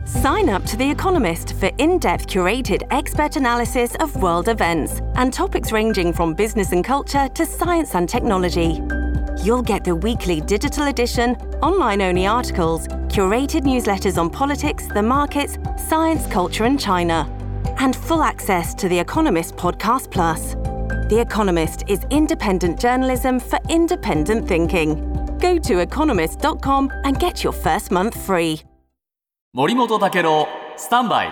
Sign up to The Economist for in-depth curated expert analysis of world events and topics ranging from business and culture to science and technology. You'll get the weekly digital edition, online-only articles, curated newsletters on politics, the markets, science, culture and China, and full access to The Economist Podcast Plus. The Economist is independent journalism for independent thinking. Go to economist.com and get your first month free. 森本武郎スタンバイ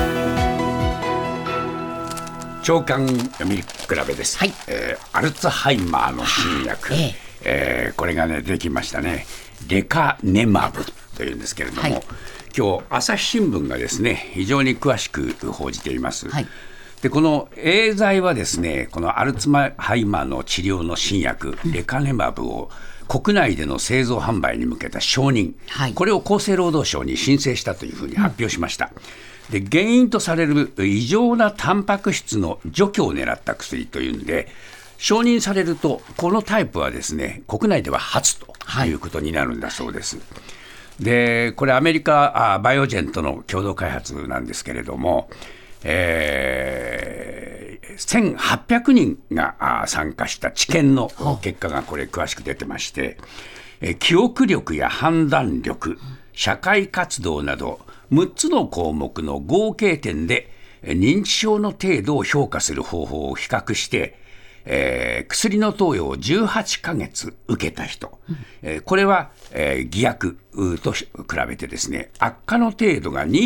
長官読み比べです、 はい。 アルツハイマーの新薬、これがねできましたね。レカネマブというんですけれども、 はい、 今日朝日新聞がですね非常に詳しく報じています、 はい。 でこのエーザイはですねこのアルツハイマーの治療の新薬、レカネマブを国内での製造販売に向けた承認、 はい、 これを厚生労働省に申請したというふうに発表しました、で原因とされる異常なタンパク質の除去を狙った薬というんで承認されるとこのタイプはですね国内では初ということになるんだそうです、でこれアメリカバイオジェンとの共同開発なんですけれども、1800人が参加した治験の結果がこれ詳しく出てまして、記憶力や判断力、社会活動など6つの項目の合計点で認知症の程度を評価する方法を比較して、薬の投与を18ヶ月受けた人、これは、偽薬と比べてですね悪化の程度が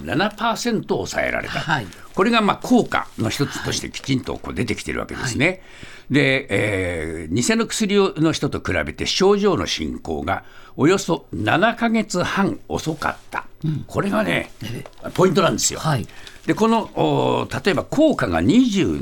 27% 抑えられた、はい、これが効果の一つとしてきちんと出てきているわけですね、はい、で、偽の薬の人と比べて症状の進行がおよそ7ヶ月半遅かった、これがねポイントなんですよ、はい、でこの例えば効果が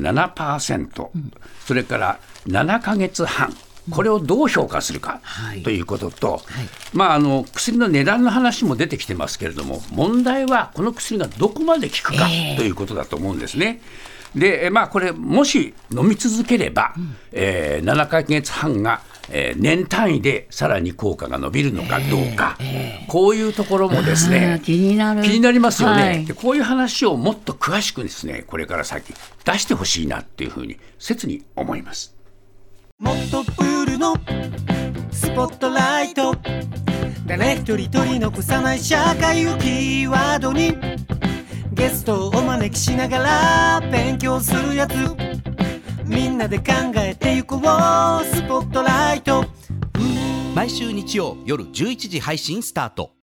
27%、それから7ヶ月半、これをどう評価するかということと、薬の値段の話も出てきてますけれども、問題はこの薬がどこまで効くかということだと思うんですね。でこれもし飲み続ければ、7ヶ月半が年単位でさらに効果が伸びるのかどうか、こういうところもですね気になりますよね、はい、でこういう話をもっと詳しくですねこれから先出してほしいなっていうふうに切に思います。 もっとプールのスポットライト、誰一人取り残さない社会をキーワードにゲストをお招きしながら勉強するやつ、みんなで考えてゆこうスポットライト、 毎週日曜夜11時配信スタート。